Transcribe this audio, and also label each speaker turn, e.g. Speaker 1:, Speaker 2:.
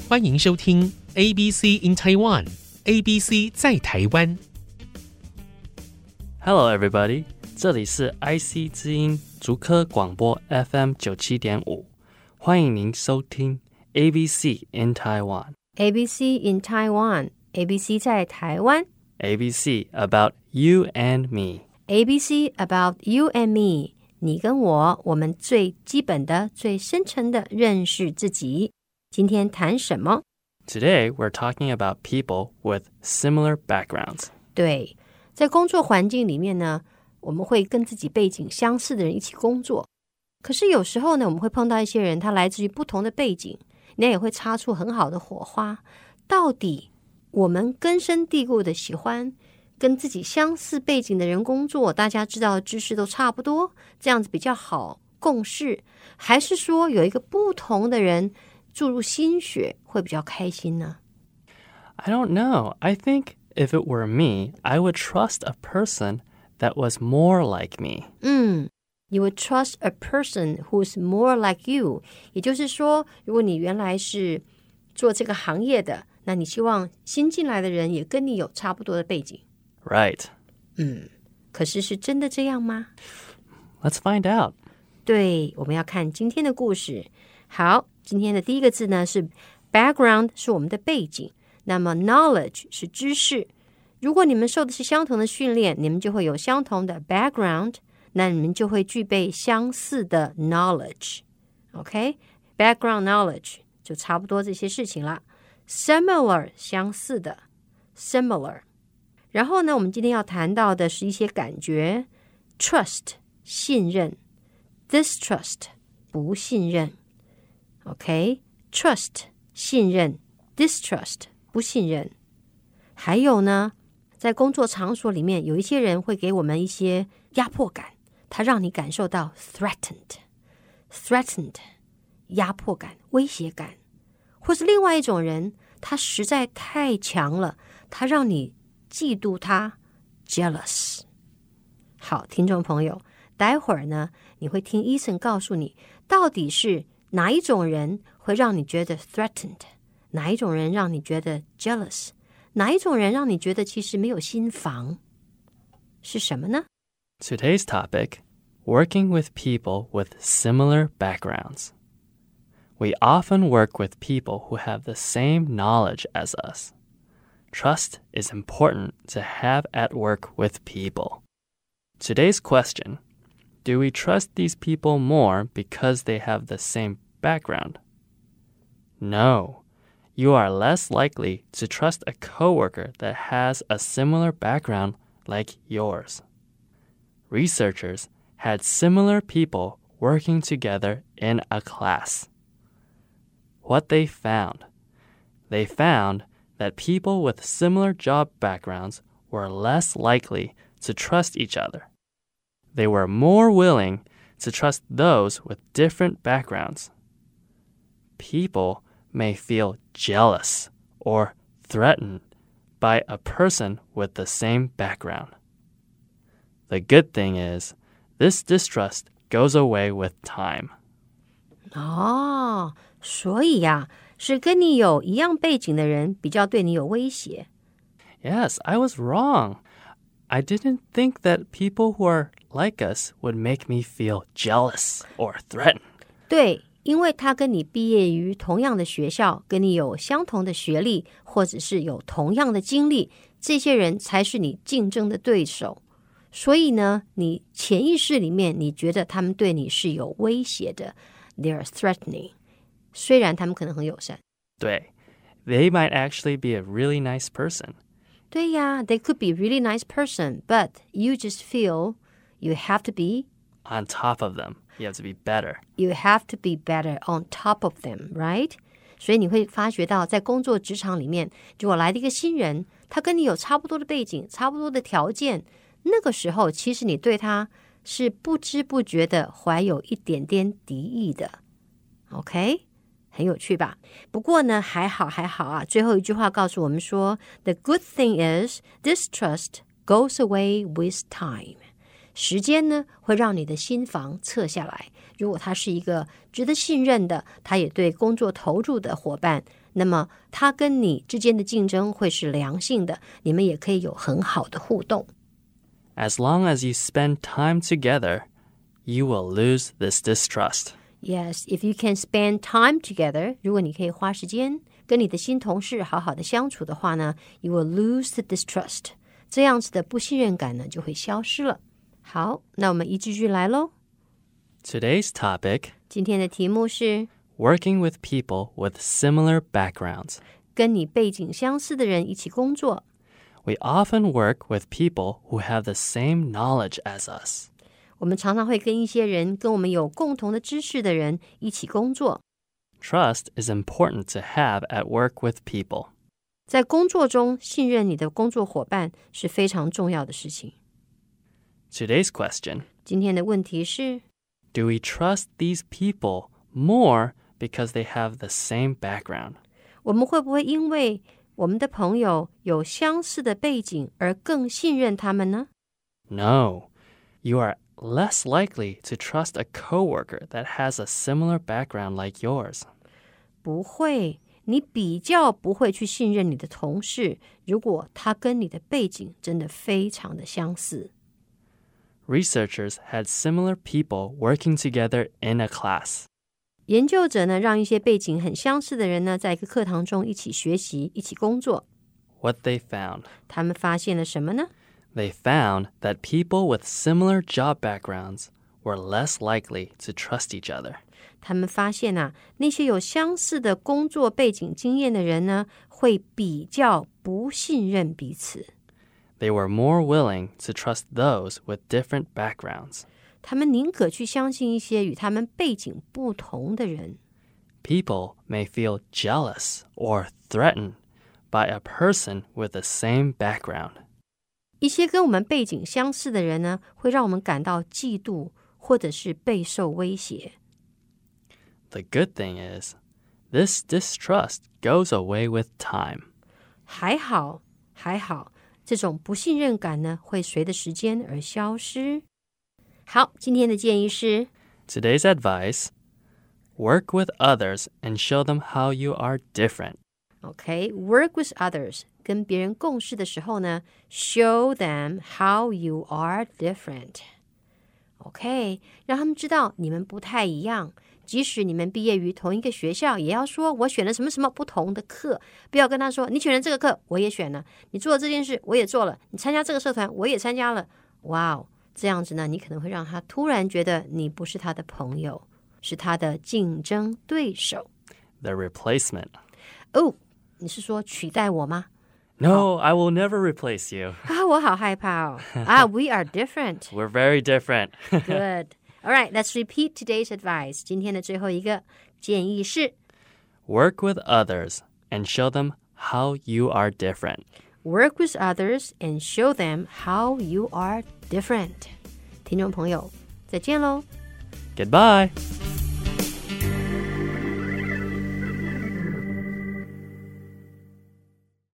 Speaker 1: 歡迎收聽 ABC in Taiwan。ABC 在台灣。
Speaker 2: Hello, everybody！ 這裡是 IC 之音竹科廣播 FM 97.5，歡迎您收聽 ABC in Taiwan。ABC
Speaker 3: in Taiwan，ABC 在台灣。
Speaker 2: ABC about you and me。ABC
Speaker 3: about you and me， 你跟我，我們最基本的、最深層的認識自己。今天談什麼？
Speaker 2: Today we're talking about people with similar backgrounds.
Speaker 3: 對，在工作環境裡面呢，我們會跟自己背景相似的人一起工作。可是有時候呢，我們會碰到一些人，他來自於不同的背景，那也會擦出很好的火花。到底我們根深蒂固的喜歡跟自己相似背景的人工作，大家知道的知識都差不多，這樣子比較好共事，還是說有一個不同的人注入心血會比較開心呢？
Speaker 2: I don't know. I think if it were me, I would trust a person that was more like me.
Speaker 3: You would trust a person who's more like you. 也就是說，如果你原來是做這個行業的，那你希望新進來的人也跟你有差不多的背景。
Speaker 2: Right.
Speaker 3: 可是是真的這樣嗎？
Speaker 2: Let's find out.
Speaker 3: 對，我們要看今天的故事。好，今天的第一個字呢是 background， 是我們的背景。那麼 knowledge 是知識。如果你們受的是相同的訓練，你們就會有相同的 background， 那你們就會具備相似的 knowledge。 OK， background knowledge 就差不多這些事情啦。Similar 相似的 similar。 然後呢，我們今天要談到的是一些感覺。 Trust 信任， Distrust 不信任。 OK， Trust 信任， Distrust 不信任。還有呢，在工作場所裡面，有一些人會給我們一些壓迫感，他讓你感受到 threatened 壓迫感、威脅感。或是另外一種人，他實在太強了，他讓你嫉妒他 jealous。 好，聽眾朋友，待會兒呢，你會聽醫生告訴你，到底是哪一種人會讓你覺得 threatened， 哪一種人讓你覺得 jealous， 哪一種人讓你覺得其實沒有心防，是什麼呢？
Speaker 2: Today's topic, working with people with similar backgrounds.We often work with people who have the same knowledge as us. Trust is important to have at work with people. Today's question, do we trust these people more because they have the same background? No, you are less likely to trust a coworker that has a similar background like yours. Researchers had similar people working together in a class.What they found that people with similar job backgrounds were less likely to trust each other. They were more willing to trust those with different backgrounds. People may feel jealous or threatened by a person with the same background. The good thing is, this distrust goes away with time.
Speaker 3: 所以呀，是跟你有一樣背景的人比較對你有威脅。
Speaker 2: Yes, I was wrong. I didn't think that people who are like us would make me feel jealous or threatened.
Speaker 3: 對，因為他跟你畢業於同樣的學校，跟你有相同的學歷，或者是有同樣的經歷，這些人才是你競爭的對手。所以呢，你潛意識裡面，你覺得他們對你是有威脅的。They are threatening.雖然他們可能很友善。
Speaker 2: 對， they might actually be a really nice person.
Speaker 3: 對呀， they could be a really nice person, but you just feel you have to be
Speaker 2: on top of them. You have to be better.
Speaker 3: You have to be better on top of them, right? 所以你會發覺到，在工作職場裡面，如果來了一個新人，他跟你有差不多的背景，差不多的條件，那個時候其實你對他是不知不覺的懷有一點點敵意的。OK？很有趣吧？不過呢，還好啊。最後一句話告訴我們說 ，The good thing is distrust goes away with time. 時間呢，會讓你的心防撤下來， 如果他是一個值得信任的，他也對工作投入的夥伴，那麼他跟你之間的競爭會是良性的，你們也可以有很好的互動。
Speaker 2: As long as you spend time together, you will lose this distrust.
Speaker 3: Yes, if you can spend time together, 如果你可以花時間跟你的新同事好好的相處的話呢， you will lose the distrust. 這樣子的不信任感呢就會消失了。好，那我們一句句來咯。
Speaker 2: Today's topic,
Speaker 3: 今天的題目是
Speaker 2: working with people with similar backgrounds.
Speaker 3: 跟你背景相似的人一起工作。
Speaker 2: We often work with people who have the same knowledge as us.
Speaker 3: 我們常常會跟一些人跟我們有共同的知識的人一起工作。
Speaker 2: Trust is important to have at work with people.
Speaker 3: 在工作中，信任你的工作夥伴是非常重要的事情。
Speaker 2: Today's question,
Speaker 3: 今天的問題是
Speaker 2: do we trust these people more because they have the same background?
Speaker 3: 我們會不會因為我們的朋友有相似的背景而更信任他們呢？
Speaker 2: No. You are less likely to trust a coworker that has a similar background like yours.
Speaker 3: 不会，你比較不會去信任你的同事，如果他跟你的背景真的非常的相似。
Speaker 2: Researchers had similar people working together in a class.
Speaker 3: 研究者呢，讓一些背景很相似的人呢，在一個課堂中一起學習，一起工作。
Speaker 2: What they found?
Speaker 3: 他們發現了什麼呢？
Speaker 2: They found that people with similar job backgrounds were less likely to trust each other.
Speaker 3: 他們發現啊，那些有相似的工作背景經驗的人呢，會比較不信任彼此。
Speaker 2: They were more willing to trust those with different backgrounds.
Speaker 3: 他們寧可去相信一些與他們背景不同的人。
Speaker 2: People may feel jealous or threatened by a person with the same background.
Speaker 3: 一些跟我們背景相似的人呢，會讓我們感到嫉妒，或者是備受威脅。
Speaker 2: The good thing is, this distrust goes away with time.
Speaker 3: 還好，這種不信任感呢，會隨着時間而消失。好，今天的建議是
Speaker 2: Today's advice, work with others and show them how you are different.
Speaker 3: OK, work with others. 跟別人共事的時候呢 show them how you are different. OK, 讓他們知道你們不太一樣。即使你們畢業於同一個學校，也要說我選了什麼什麼不同的課。不要跟他說你選了這個課，我也選了。你做了這件事，我也做了。你參加這個社團，我也參加了。哇哦，這樣子呢，你可能會讓他突然覺得你不是他的朋友，是他的競爭對手。
Speaker 2: The replacement.
Speaker 3: 哦，你是說取代我嗎？
Speaker 2: No, I will never replace you.
Speaker 3: 啊，我好害怕哦。We are different.
Speaker 2: We're very different.
Speaker 3: Good. All right, let's repeat today's advice. 今天的最後一個建議是
Speaker 2: Work with others and show them how you are different.
Speaker 3: Work with others and show them how you are different. 聽眾朋友，再見嘍。
Speaker 2: Goodbye.